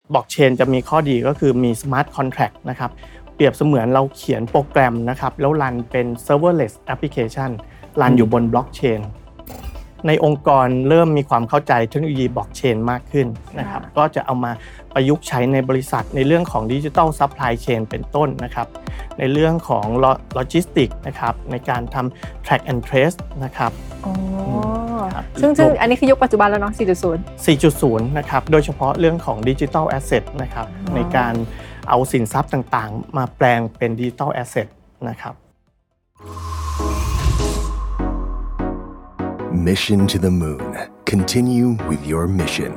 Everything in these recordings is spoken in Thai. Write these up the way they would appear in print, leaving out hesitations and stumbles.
บล็อกเชนจะมีข้อดีก็คือมี smart contract นะครับเปรียบเสมือนเราเขียนโปรแกรมนะครับแล้วรันเป็น serverless application รันอยู่บนบล็อกเชนในองค์กรเริ่มมีความเข้าใจเทคโนโลยีบล็อกเชนมากขึ้นนะครับก็จะเอามาประยุกต์ใช้ในบริษัทในเรื่องของ Digital Supply Chain เป็นต้นนะครับในเรื่องของโลจิสติกนะครับในการทำ track and trace นะครับซึ่งอันนี้คือยุคปัจจุบันแล้วเนาะ 4.0 นะครับโดยเฉพาะเรื่องของ Digital Asset นะครับในการเอาสินทรัพย์ต่างๆมาแปลงเป็น Digital Asset นะครับ Mission to the Moon. Continue with your mission.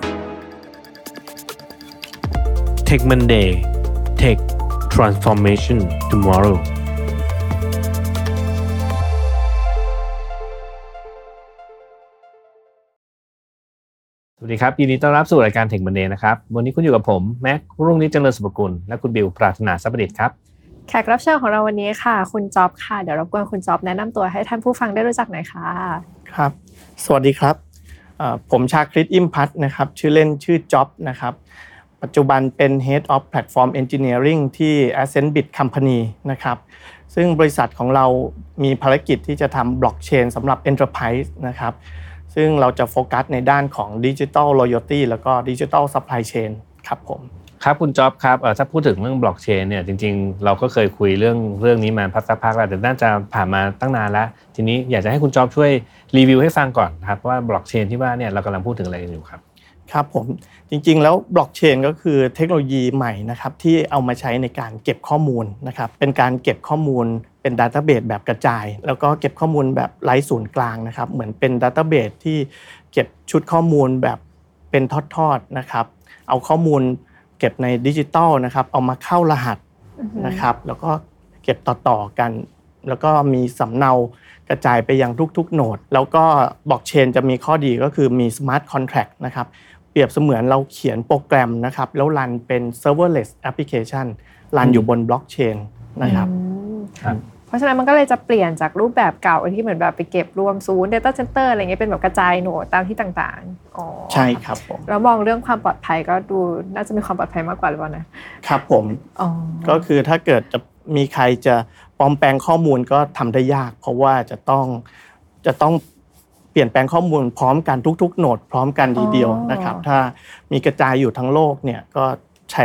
Tech Monday. Tech Transformation Tomorrow. สวัสดีครับยินดีต้อนรับสู่รายการ Tech Monday นะครับวันนี้คุณอยู่กับผมแม็กรุ่งฤทธิ์เจริญสุภกุลและคุณบิวปรารถนาทรัพย์ประดิษฐ์ครับแขกรับเชิญของเราวันนี้ค่ะคุณจ๊อบค่ะเดี๋ยวรบกวนคุณจ๊อบแนะนำตัวให้ท่านผู้ฟังได้รู้จักหน่อยค่ะครับสวัสดีครับผมชาคริต อิ่มพัฒน์นะครับชื่อเล่นชื่อจ๊อบนะครับปัจจุบันเป็น Head of Platform Engineering ที่ Ascendbit Company นะครับซึ่งบริษัทของเรามีภารกิจที่จะทำบล็อกเชนสำหรับ Enterprise นะครับซึ่งเราจะโฟกัสในด้านของ Digital Loyalty แล้วก็ Digital Supply Chain ครับผมครับคุณจ๊อบครับถ้าพูดถึงเรื่องบล็อกเชนเนี่ยจริงๆเราก็เคยคุยเรื่องนี้มาสักพักแล้วแต่น่าจะผ่านมาตั้งนานแล้วทีนี้อยากจะให้คุณจ๊อบช่วยรีวิวให้ฟังก่อนครับว่าบล็อกเชนที่ว่าเนี่ยเรากำลังพูดถึงอะไรอยู่ครับครับผมจริงๆแล้วบล็อกเชนก็คือเทคโนโลยีใหม่นะครับที่เอามาใช้ในการเก็บข้อมูลนะครับเป็นการเก็บข้อมูลเป็นดัตต้าเบสแบบกระจายแล้วก็เก็บข้อมูลแบบไร้ศูนย์กลางนะครับเหมือนเป็นดัตต้าเบสที่เก็บชุดข้อมูลแบบเป็นทอดๆนะครับเอาข้อมูลเก็บในดิจิตอลนะครับเอามาเข้ารหัสนะครับแล้วก็เก็บต่อๆกันแล้วก็มีสำเนากระจายไปยังทุกๆโนดแล้วก็บล็อกเชนจะมีข้อดีก็คือมี smart contract นะครับเปรียบเสมือนเราเขียนโปรแกรมนะครับแล้วรันเป็น serverless application รันอยู่บนบล็อกเชนนะครับเพราะฉะนั้นมันก็เลยจะเปลี่ยนจากรูปแบบเก่าที่เหมือนแบบไปเก็บรวมศูนย์ data center อะไรเงี้ยเป็นแบบกระจายโหนดตามที่ต่างๆอ๋อใช่ครับผมแล้วมองเรื่องความปลอดภัยก็ดูน่าจะมีความปลอดภัยมากกว่าหรือเปล่านะครับผมก็คือถ้าเกิดจะมีใครจะปลอมแปลงข้อมูลก็ทำได้ยากเพราะว่าจะต้องเปลี่ยนแปลงข้อมูลพร้อมกันทุกๆโหนดพร้อมกันทีเดียวนะครับถ้ามีกระจายอยู่ทั้งโลกเนี่ยก็ใช้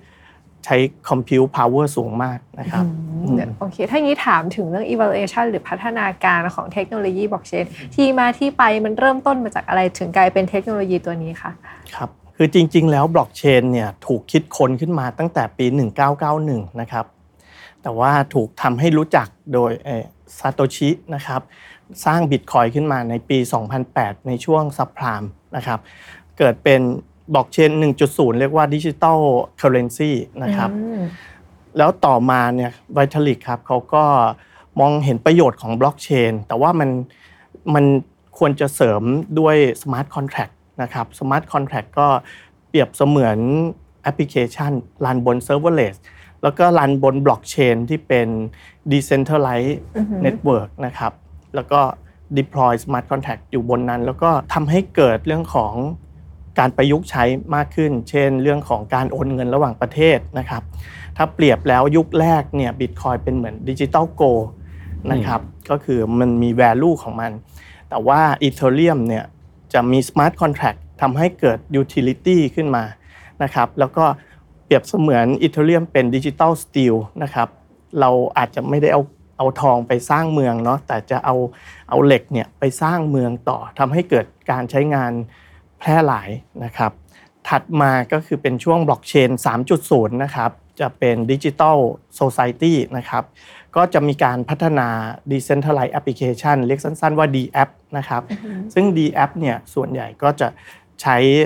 compute power สูงมากนะครับโอเคถ้างี้ถามถึงเรื่อง evaluation หรือพัฒนาการของเทคโนโลยีบล็อกเชนที่มาที่ไปมันเริ่มต้นมาจากอะไรถึงกลายเป็นเทคโนโลยีตัวนี้คะครับคือจริงๆแล้วบล็อกเชนเนี่ยถูกคิดค้นขึ้นมาตั้งแต่ปี1991นะครับแต่ว่าถูกทำให้รู้จักโดยซาโตชินะครับสร้าง Bitcoin ขึ้นมาในปี 2008 ในช่วงซับไพรม์นะครับเกิดเป็นบล็อกเชน 1.0 เรียกว่า Digital Currency นะครับแล้วต่อมาเนี่ย Vitalik ครับเขาก็มองเห็นประโยชน์ของบล็อกเชนแต่ว่ามันควรจะเสริมด้วย Smart Contract นะครับ Smart Contract ก็เปรียบเสมือนแอปพลิเคชันรันบน Serverless แล้วก็รันบนบล็อกเชนที่เป็น Decentralized Network นะครับแล้วก็ deploy smart contract อยู่บนนั้นแล้วก็ทำให้เกิดเรื่องของการประยุกต์ใช้มากขึ้นเช่นเรื่องของการโอนเงินระหว่างประเทศนะครับถ้าเปรียบแล้วยุคแรกเนี่ย Bitcoin เป็นเหมือน Digital Gold นะครับก็คือมันมี value ของมันแต่ว่า Ethereum เนี่ยจะมี smart contract ทำให้เกิด utility ขึ้นมานะครับแล้วก็เปรียบเสมือน Ethereum เป็น Digital Steel นะครับเราอาจจะไม่ได้เอาทองไปสร้างเมืองเนาะแต่จะเอาเหล็กเนี่ยไปสร้างเมืองต่อทำให้เกิดการใช้งานแพร่หลายนะครับถัดมาก็คือเป็นช่วงบล็อกเชน 3.0 นะครับจะเป็น Digital Society นะครับก็จะมีการพัฒนา Decentralized Application เรียกสั้นๆว่า DApp นะครับซึ่ง DApp เนี่ยส่วนใหญ่ก็จะใช้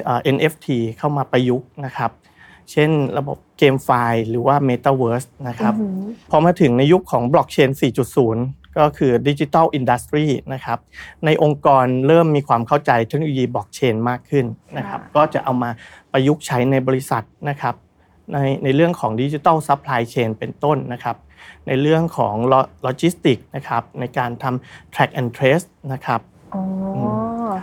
NFT เข้ามาประยุกต์นะครับเช่นระบบเกมไฟล์หรือว่า Metaverse นะครับพอมาถึงในยุคของบล็อกเชน 4.0 ก็คือ Digital Industry นะครับในองค์กรเริ่มมีความเข้าใจเทคโนโลยีบล็อกเชนมากขึ้นนะครับก็จะเอามาประยุกต์ใช้ในบริษัทนะครับในเรื่องของ Digital Supply Chain เป็นต้นนะครับในเรื่องของโลจิสติกนะครับในการทำ Track and Trace นะครับ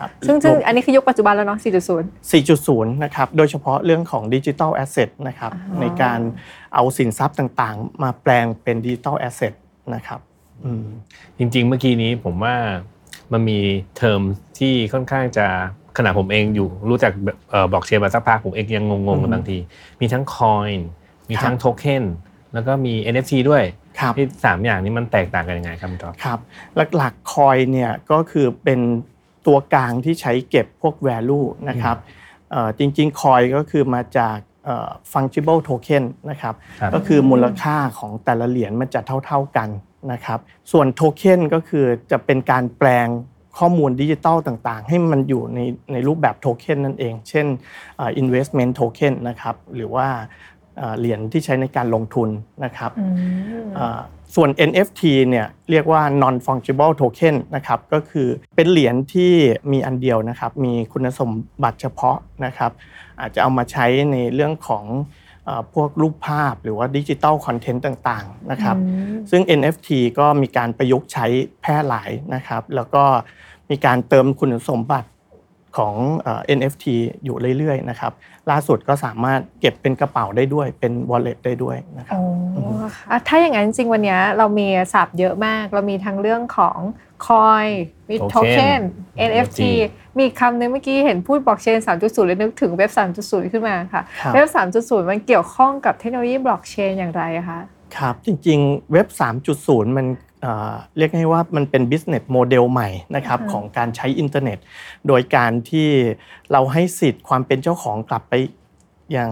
นะครับซึ่งอันนี้คือยุคปัจจุบันแล้วเนาะ 4.0 4.0 นะครับโดยเฉพาะเรื่องของ Digital Asset นะครับในการเอาสินทรัพย์ต่างๆมาแปลงเป็น Digital Asset นะครับจริงๆเมื่อกี้นี้ผมว่ามันมีเทอมที่ค่อนข้างจะขณะผมเองอยู่รู้จักบล็อกเชนมาสักพักผมเองยังงงๆบางทีมีทั้ง Coin มีทั้งโทเค็นแล้วก็มี NFT ด้วยที่3อย่างนี้มันแตกต่างกันยังไงครับคุณจอมครับหลักๆ Coin เนี่ยก็คือเป็นตัวกลางที่ใช้เก็บพวก value นะครับจริงๆ Coin ก็คือมาจากfungible token นะครับก็คือมูลค่าของแต่ละเหรียญมันจะเท่าๆกันนะครับส่วนโทเค็นก็คือจะเป็นการแปลงข้อมูลดิจิทัลต่างๆให้มันอยู่ในรูปแบบโทเค็นนั่นเองเช่นinvestment token นะครับหรือว่าเหรียญที่ใช้ในการลงทุนนะครับส่วน NFT เนี่ยเรียกว่า non fungible token นะครับก็คือเป็นเหรียญที่มีอันเดียวนะครับมีคุณสมบัติเฉพาะนะครับอาจจะเอามาใช้ในเรื่องของพวกรูปภาพหรือว่าดิจิทัลคอนเทนต์ต่างๆนะครับซึ่ง NFT ก็มีการประยุกต์ใช้แพร่หลายนะครับแล้วก็มีการเติมคุณสมบัติของ NFT อยู่เรื่อยๆนะครับล่าสุดก็สามารถเก็บเป็นกระเป๋าได้ด้วยเป็น wallet ได้ด้วยนะครับถ้าอย่างนั้นจริงวันนี้เรามีศัพท์เยอะมากเรามีทั้งเรื่องของ coin มี token NFT มีคำนึงเมื่อกี้เห็นพูด blockchain 3.0 เลยนึกถึงเว็บ 3.0 ขึ้นมาค่ะเว็บ 3.0 มันเกี่ยวข้องกับเทคโนโลยี blockchain อย่างไรคะครับจริงๆเว็บ 3.0 มันเรียกง่ายว่ามันเป็น business model ใหม่นะครับของการใช้อินเทอร์เน็ตโดยการที่เราให้สิทธิ์ความเป็นเจ้าของกลับไปยัง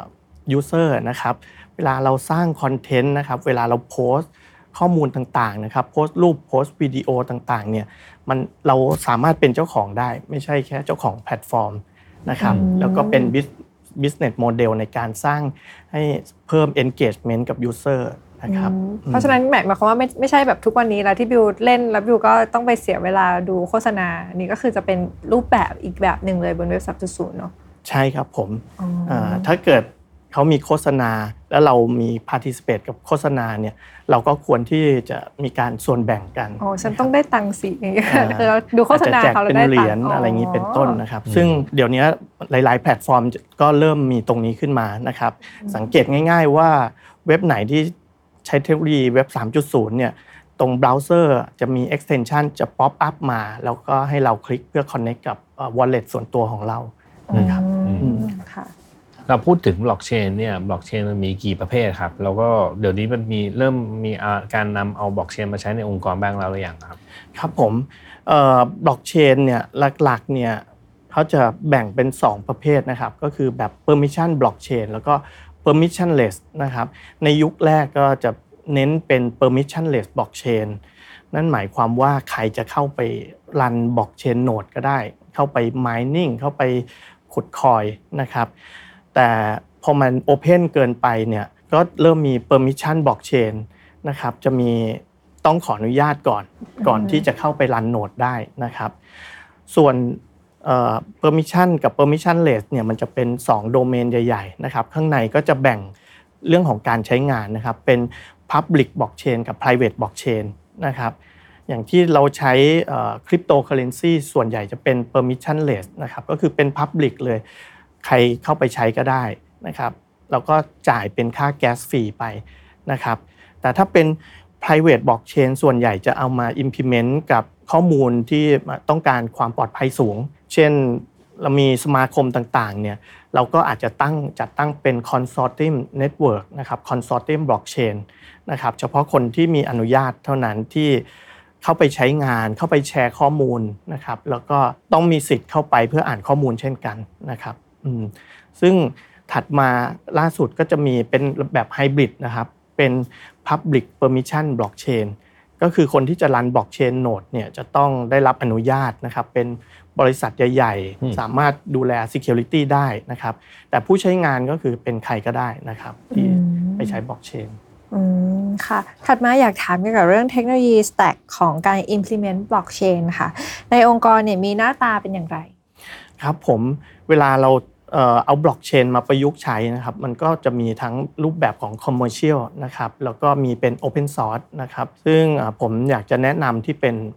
user นะครับเวลาเราสร้างคอนเทนต์นะครับเวลาเราโพสต์ข้อมูลต่างๆนะครับโพสต์รูปโพสต์วิดีโอต่างๆเนี่ยเราสามารถเป็นเจ้าของได้ไม่ใช่แค่เจ้าของแพลตฟอร์มนะครับแล้วก็เป็น business model ในการสร้างให้เพิ่ม engagement กับ user นะครับเพราะฉะนั้นหมายความว่าไม่ใช่แบบทุกวันนี้แล้วที่บิวเล่นแล้วบิวก็ต้องไปเสียเวลาดูโฆษณานี่ก็คือจะเป็นรูปแบบอีกแบบหนึ่งเลยบนเว็บ 3.0 เนาะใช่ครับผมถ้าเกิดเขามีโฆษณาแล้วเรามี participate กับโฆษณาเนี่ยเราก็ควรที่จะมีการส่วนแบ่งกันฉันต้องได้ตังค์สิอย่างเงี้ยคือเราดูโฆษณาเขาแล้วได้ตังค์เป็นเหรียญอะไรอย่างนี้เป็นต้นนะครับซึ่งเดี๋ยวนี้หลายๆแพลตฟอร์มก็เริ่มมีตรงนี้ขึ้นมานะครับสังเกตง่ายๆว่าเว็บไหนที่ใช้เทคโนโลยีเว็บ 3.0 เนี่ยตรงเบราว์เซอร์จะมี extension จะ pop up มาแล้วก็ให้เราคลิกเพื่อ connect กับ wallet ส่วนตัวของเรานะครับเราพูดถึงบล็อกเชนเนี่ยบล็อกเชนมันมีกี่ประเภทครับแล้วก็เดี๋ยวนี้มันเริ่มมีการนำเอาบล็อกเชนมาใช้ในองค์กรบ้างแล้วหรือยังครับครับผมบล็อกเชนเนี่ยหลักๆเนี่ยเขาจะแบ่งเป็น2ประเภทนะครับก็คือแบบ permission blockchain แล้วก็ permissionless นะครับในยุคแรกก็จะเน้นเป็น permissionless blockchain นั่นหมายความว่าใครจะเข้าไปรันบล็อกเชนโนดก็ได้เข้าไป mining เข้าไปขุดคอยนะครับแต่พอมันโอเพนเกินไปเนี่ยก็เริ่มมี permission blockchain นะครับจะมีต้องขออนุญาตก่อนที่จะเข้าไปรันโนดได้นะครับส่วนpermission กับ permissionless เนี่ยมันจะเป็น2โดเมนใหญ่ๆนะครับข้างในก็จะแบ่งเรื่องของการใช้งานนะครับเป็น public blockchain กับ private blockchain นะครับอย่างที่เราใช้cryptocurrency ส่วนใหญ่จะเป็น permissionless นะครับก็คือเป็น public เลยใครเข้าไปใช้ก็ได้นะครับแล้วก็จ่ายเป็นค่าแก๊สฟรีไปนะครับแต่ถ้าเป็น private blockchain ส่วนใหญ่จะเอามา implement กับข้อมูลที่ต้องการความปลอดภัยสูงเช่นเรามีสมาคมต่างๆเนี่ยเราก็อาจจะจัดตั้งเป็น consortium network นะครับ consortium blockchain นะครับเฉพาะคนที่มีอนุญาตเท่านั้นที่เข้าไปใช้งานเข้าไปแชร์ข้อมูลนะครับแล้วก็ต้องมีสิทธิ์เข้าไปเพื่ออ่านข้อมูลเช่นกันนะครับซึ่งถัดมาล่าสุดก็จะมีเป็นแบบไฮบริดนะครับเป็น Public Permission Blockchain ก็คือคนที่จะรัน Blockchain Node เนี่ยจะต้องได้รับอนุญาตนะครับเป็นบริษัทใหญ่ๆสามารถดูแล Security ได้นะครับแต่ผู้ใช้งานก็คือเป็นใครก็ได้นะครับที่ไปใช้ Blockchain ค่ะถัดมาอยากถามเกี่ยวกับเรื่องเทคโนโลยี stack ของการ implement blockchain ค่ะในองค์กรเนี่ยมีหน้าตาเป็นอย่างไรครับผมเวลาเราเอาบล็อกเชนมาประยุกต์ใช้นะครับมันก็จะมีทั้งรูปแบบของ commercial นะครับแล้วก็มีเป็น open source นะครับซึ่งผมอยากจะแนะนำที่เป็น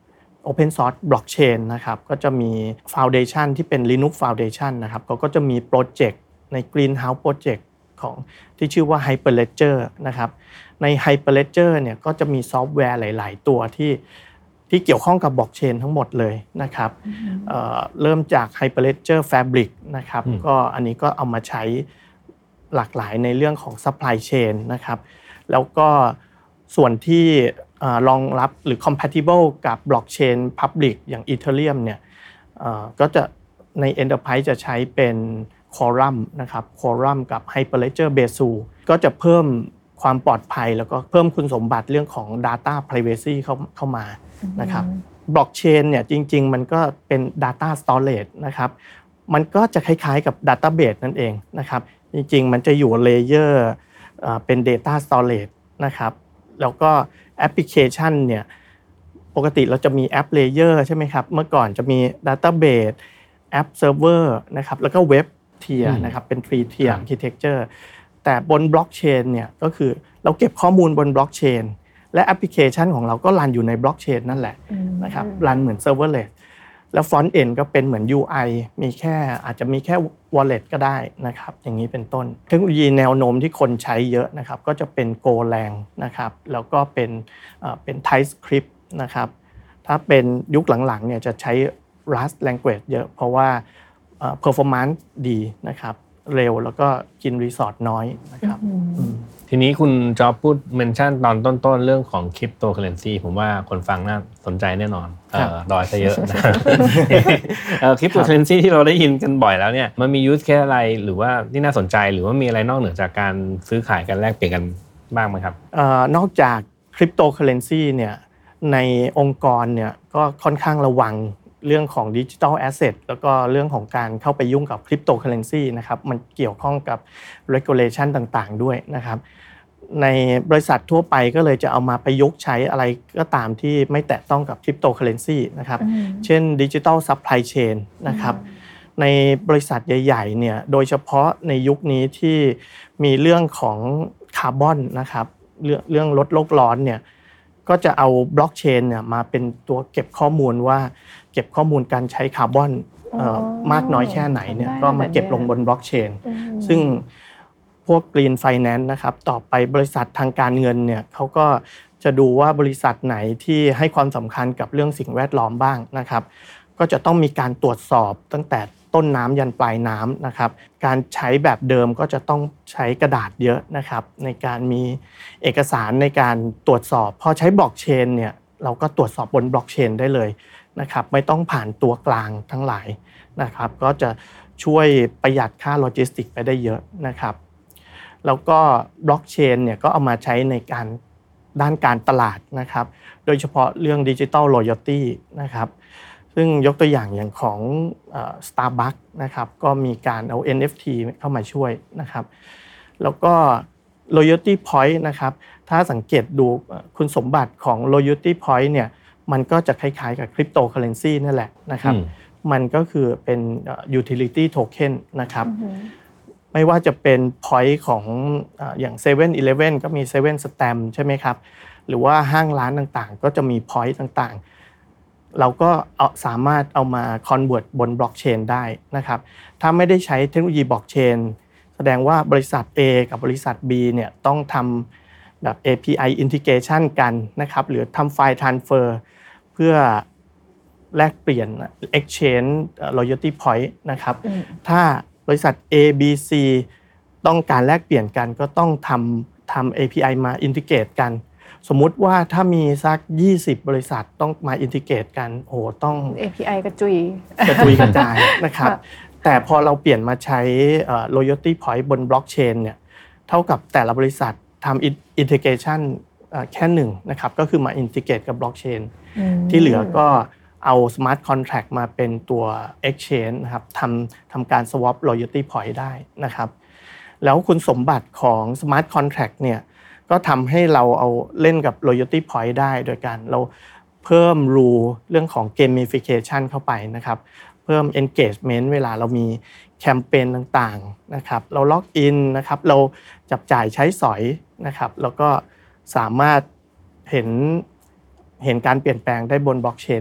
Open Source Blockchain นะครับก็จะมี Foundation ที่เป็น Linux Foundation นะครับเขาก็จะมีโปรเจกต์ใน Greenhouse Project ของที่ชื่อว่า Hyperledger นะครับใน Hyperledger เนี่ยก็จะมีซอฟต์แวร์หลายๆตัวที่เกี่ยวข้องกับบล็อกเชนทั้งหมดเลยนะครับเริ่มจาก Hyperledger Fabric นะครับก็อันนี้ก็เอามาใช้หลากหลายในเรื่องของ Supply Chain นะครับแล้วก็ส่วนที่รองรับหรือ compatible กับ blockchain public อย่าง Ethereum เนี่ยก็จะใน Enterprise จะใช้เป็น Quorum นะครับ Quorum กับ Hyperledger Besu ก็จะเพิ่มความปลอดภัยแล้วก็เพิ่มคุณสมบัติเรื่องของ Data Privacy เข้ามานะครับ Blockchain เนี่ยจริงๆมันก็เป็น Data Storage นะครับมันก็จะคล้ายๆกับ Database นั่นเองนะครับจริงๆมันจะอยู่เลเยอร์เป็น Data Storage นะครับแล้วก็แอปพลิเคชันเนี่ยปกติเราจะมีแอปเลเยอร์ใช่ไหมครับเมื่อก่อนจะมี Database แอปเซิร์ฟเวอร์นะครับแล้วก็เว็บเทียร์นะครับเป็น 3 tier architecture แต่บนบล็อกเชนเนี่ยก็คือเราเก็บข้อมูลบนบล็อกเชนและแอปพลิเคชันของเราก็รันอยู่ในบล็อกเชนนั่นแหละนะครับรันเหมือนเซิร์ฟเวอร์เลสแล้วฟรอนต์เอ็นด์ก็เป็นเหมือน UI มีแค่อาจจะมีแค่ wallet ก็ได้นะครับอย่างนี้เป็นต้นเทคโนโลยีแนวโน้มที่คนใช้เยอะนะครับก็จะเป็น Golang นะครับแล้วก็เป็น TypeScript นะครับถ้าเป็นยุคหลังๆเนี่ยจะใช้ Rust language เยอะเพราะว่า performance ดีนะครับเร็วแล้วก็กินรีซอร์สน้อยนะครับทีนี้คุณจอบพูดเมนชั่นตอนต้นๆเรื่องของคริปโตเคอเรนซีผมว่าคนฟังน่าสนใจแน่นอนดอยซะเยอะนะคริปโตเคอเรนซีที่เราได้ยินกันบ่อยแล้วเนี่ยมันมียูสเคสอะไรหรือว่าที่น่าสนใจหรือว่ามีอะไรนอกเหนือจากการซื้อขายกันแลกเปลี่ยนกันบ้างไหมครับนอกจากคริปโตเคอเรนซีเนี่ยในองค์กรเนี่ยก็ค่อนข้างระวังเรื่องของดิจิทัลแอสเซทแล้วก็เรื่องของการเข้าไปยุ่งกับคริปโตเคอเรนซีนะครับมันเกี่ยวข้องกับ regulation ต่างๆด้วยนะครับในบริษัททั่วไปก็เลยจะเอามาประยุกต์ใช้อะไรก็ตามที่ไม่แตะต้องกับคริปโตเคอเรนซีนะครับเช่นดิจิทัลซัพพลายเชนนะครับในบริษัทใหญ่ๆเนี่ยโดยเฉพาะในยุคนี้ที่มีเรื่องของคาร์บอนนะครับเรื่องลดโลกร้อนเนี่ยก็จะเอาบล็อกเชนเนี่ยมาเป็นตัวเก็บข้อมูลว่าเก็บข้อมูลการใช้คาร์บอนมากน้อยแค่ไหนเนี่ยก็มาเก็บลงบนบล็อกเชนซึ่งพวก Green Finance นะครับต่อไปบริษัททางการเงินเนี่ยเขาก็จะดูว่าบริษัทไหนที่ให้ความสำคัญกับเรื่องสิ่งแวดล้อมบ้างนะครับก็จะต้องมีการตรวจสอบตั้งแต่ต้นน้ำยันปลายน้ำนะครับการใช้แบบเดิมก็จะต้องใช้กระดาษเยอะนะครับในการมีเอกสารในการตรวจสอบพอใช้บล็อกเชนเนี่ยเราก็ตรวจสอบบนบล็อกเชนได้เลยนะครับไม่ต้องผ่านตัวกลางทั้งหลายนะครับก็จะช่วยประหยัดค่าโลจิสติกไปได้เยอะนะครับแล้วก็บล็อกเชนเนี่ยก็เอามาใช้ในการด้านการตลาดนะครับโดยเฉพาะเรื่อง Digital Loyalty นะครับซึ่งยกตัวอย่างของStarbucks นะครับก็มีการเอา NFT เข้ามาช่วยนะครับแล้วก็ Loyalty Point นะครับถ้าสังเกตดูคุณสมบัติของ Loyalty Point เนี่ยมันก็จะคล้ายๆกับคริปโตเคอเรนซีนั่นแหละนะครับมันก็คือเป็น utility token นะครับไม่ว่าจะเป็น point ของอย่าง 7-Eleven ก็มี7 Stamp ใช่ไหมครับหรือว่าห้างร้านต่างๆก็จะมี point ต่างๆเราก็สามารถเอามา convert บนบล็อกเชนได้นะครับถ้าไม่ได้ใช้เทคโนโลยีบล็อกเชนแสดงว่าบริษัท A กับบริษัท B เนี่ยต้องทำแบบ API integration กันนะครับหรือทำไฟล์ transfer เพื่อแลกเปลี่ยน exchange loyalty point นะครับถ้าบริษัท A B C ต้องการแลกเปลี่ยนกันก็ต้องทำ API มา integrate กันสมมุติว่าถ้ามีสัก20บริษัทต้องมา integrate กันโอ้ต้อง API กระจุยกระจายนะครับแต่พอเราเปลี่ยนมาใช้ loyalty point บน blockchain เนี่ยเท่ากับแต่ละบริษัททำ integration แค่หนึ่งนะครับก็คือมา integrate กับ blockchain ที่เหลือก็เอา smart contract มาเป็นตัว exchange นะครับทำการ swap loyalty point ได้นะครับแล้วคุณสมบัติของ smart contract เนี่ยก็ทำให้เราเอาเล่นกับ loyalty point ได้โดยการเราเพิ่ม rule เรื่องของ gamification เข้าไปนะครับเพิ่ม engagement เวลาเรามีแคมเปญต่างๆนะครับเราล็อกอินนะครับเราจับจ่ายใช้สอยนะครับแล้วก็สามารถเห็นการเปลี่ยนแปลงได้บนบล็อกเชนเลย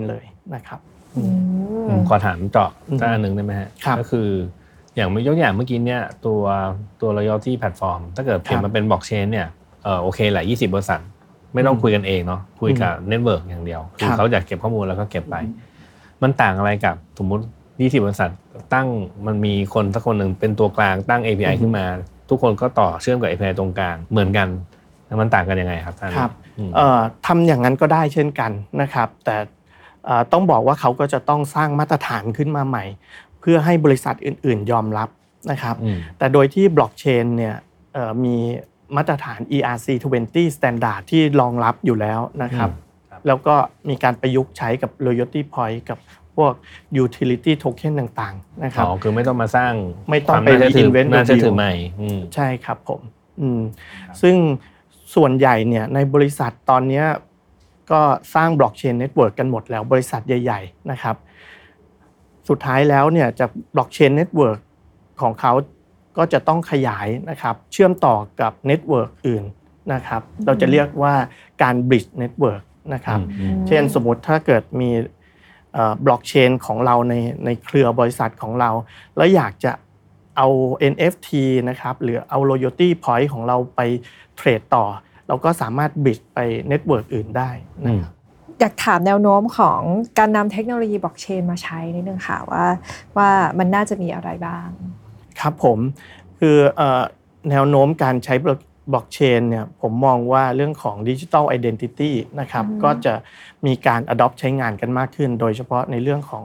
นะครับขอถามเจาะสักอันนึงได้ไหมฮะก็คืออย่างยกอย่างเมื่อกี้เนี่ยตัว loyalty platform ถ้าเกิดเปลี่ยนมาเป็น blockchain เนี่ยโอเคแหละ20 บริษัทไม่ต้องคุยกันเองเนาะคุยกับ network อย่างเดียวคือเขาอยากเก็บข้อมูลแล้วก็เก็บไปมันต่างอะไรกับสมมุติ20 บริษัทตั้งมันมีคนสักคนหนึ่งเป็นตัวกลางตั้ง API ขึ้นมาทุกคนก็ต่อเชื่อมกับ API ตรงกลางเหมือนกันมันต่างกันยังไงครับท่านครับทำอย่างนั้นก็ได้เช่นกันนะครับแต่ต้องบอกว่าเขาก็จะต้องสร้างมาตรฐานขึ้นมาใหม่เพื่อให้บริษัทอื่นๆยอมรับนะครับแต่โดยที่บล็อกเชนเนี่ยมีมาตรฐาน ERC20 Standard ที่รองรับอยู่แล้วนะครับแล้วก็มีการประยุกต์ใช้กับ Loyalty Point กับพวก Utility Token ต่างๆนะครับคือไม่ต้องมาสร้างไม่ต้องไป Invent น่าจะถือใหม่ใช่ครับผมซึ่งส่วนใหญ่เนี่ยในบริษัทตอนนี้ก็สร้างบล็อกเชนเน็ตเวิร์กกันหมดแล้วบริษัทใหญ่ๆนะครับสุดท้ายแล้วเนี่ยจากบล็อกเชนเน็ตเวิร์กของเขาก็จะต้องขยายนะครับเชื่อมต่อกับเน็ตเวิร์กอื่นนะครับเราจะเรียกว่าการบริดจ์เน็ตเวิร์กนะครับเช่นสมมติถ้าเกิดมีบล็อกเชนของเราในเครือบริษัทของเราแล้วอยากจะเอา NFT นะครับหรือเอา Loyalty Point ของเราไปเทรดต่อเราก็สามารถบริดจ์ไปเน็ตเวิร์กอื่นได้นะครับอยากถามแนวโน้มของการนำเทคโนโลยีบล็อกเชนมาใช้นิดนึงค่ะว่ามันน่าจะมีอะไรบ้างครับผมคือแนวโน้มการใช้บล็อกเชนเนี่ยผมมองว่าเรื่องของ Digital Identity นะครับก็จะมีการ adopt ใช้งานกันมากขึ้นโดยเฉพาะในเรื่องของ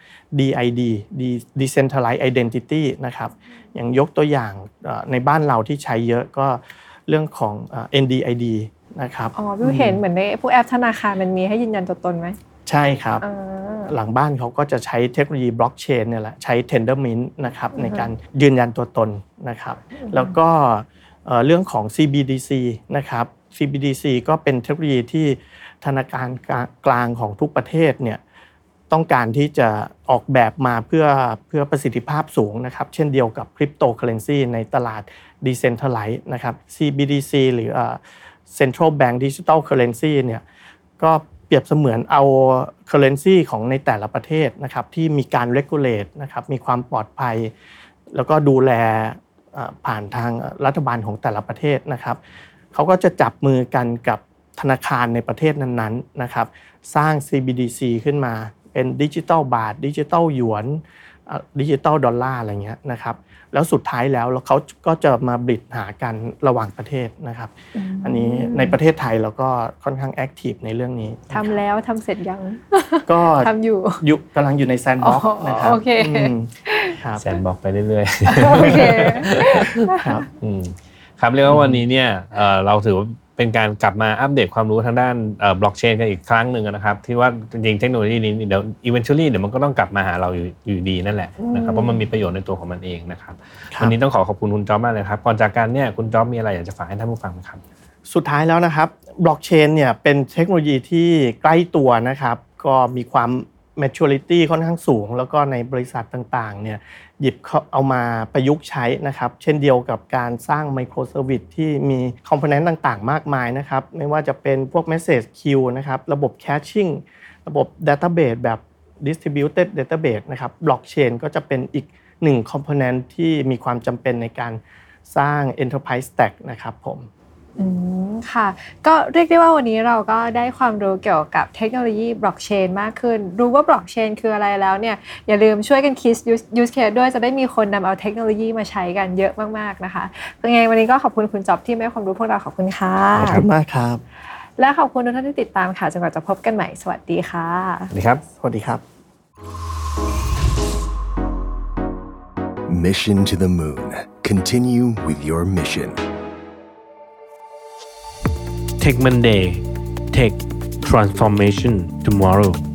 DID Decentralized Identity นะครับอย่างยกตัวอย่างในบ้านเราที่ใช้เยอะก็เรื่องของ NDID นะครับพี่เห็นเหมือนในพวกแอปธนาคารมันมีให้ยืนยันตัวตนไหมใช่ครับหลังบ้านเขาก็จะใช้เทคโนโลยีบล็อกเชนเนี่ยแหละใช้ Tendermint นะครับในการยืนยันตัวตนนะครับแล้วก็เรื่องของ CBDC นะครับ CBDC ก็เป็นเทคโนโลยีที่ธนาคารกลางของทุกประเทศเนี่ยต้องการที่จะออกแบบมาเพื่อประสิทธิภาพสูงนะครับเช่นเดียวกับคริปโตเคอเรนซีในตลาด Decentralized นะครับ CBDC หรือCentral Bank Digital Currency เนี่ยก็เปรียบเสมือนเอา currency ของในแต่ละประเทศนะครับที่มีการ regulate นะครับมีความปลอดภัยแล้วก็ดูแลผ่านทางรัฐบาลของแต่ละประเทศนะครับเขาก็จะจับมือกันกับธนาคารในประเทศนั้นๆนะครับสร้าง CBDC ขึ้นมาเป็นดิจิทัลบาทดิจิทัลหยวนดิจิทัลดอลลาร์อะไรเงี้ยนะครับแล้วสุดท้ายแล้วเขาก็จะมาบริดหากันระหว่างประเทศนะครับอันนี้ในประเทศไทยเราก็ค่อนข้างแอคทีฟในเรื่องนี้ทำแล้วทำเสร็จยังก็ทำอยู่กำลังอยู่ในแซนด์บ็อกซ์นะครับโอเคแซนด์บ็อกซ์ไปเรื่อยๆโอเคครับครับเรียกว่าวันนี้เนี่ยเราถือว่าเป็นการกลับมาอัปเดตความรู้ทางด้านบล็อกเชนกันอีกครั้งหนึ่งนะครับที่ว่าจริงๆเทคโนโลยีนี้เดี๋ยว eventually เดี๋ยวมันก็ต้องกลับมาหาเราอยู่ดีนั่นแหละนะครับเพราะมันมีประโยชน์ในตัวของมันเองนะครับวันนี้ต้องขอบคุณคุณจ๊อบมากเลยครับก่อนจากกันเนี่ยคุณจ๊อบมีอะไรอยากจะฝากให้ท่านผู้ฟังครับสุดท้ายแล้วนะครับบล็อกเชนเนี่ยเป็นเทคโนโลยีที่ใกล้ตัวนะครับก็มีความ maturity ค่อนข้างสูงแล้วก็ในบริษัทต่างๆเนี่ยหยิบเอามาประยุกต์ใช้นะครับเช่นเดียวกับการสร้างไมโครเซอร์วิสที่มีคอมโพเนนต์ต่างๆมากมายนะครับไม่ว่าจะเป็นพวก message queue นะครับระบบ caching ระบบ database แบบ distributed database นะครับบล็อกเชนก็จะเป็นอีกหนึ่งคอมโพเนนต์ที่มีความจำเป็นในการสร้าง enterprise stack นะครับผมค่ะก็เรียกได้ว่าวันนี้เราก็ได้ความรู้เกี่ยวกับเทคโนโลยีบล็อกเชนมากขึ้นรู้ว่าบล็อกเชนคืออะไรแล้วเนี่ยอย่าลืมช่วยกันคิดยูสเคสด้วยจะได้มีคนนำเอาเทคโนโลยีมาใช้กันเยอะมากๆนะคะยังไงวันนี้ก็ขอบคุณคุณจ๊อบที่ให้ความรู้พวกเราขอบคุณค่ะขอบคุณมากครับและขอบคุณทุกท่านที่ติดตามค่ะจนกว่าจะพบกันใหม่สวัสดีค่ะสวัสดีครับสวัสดีครับ Mission to the Moon. Continue with your mission. Tech Monday. Tech Transformation Tomorrow.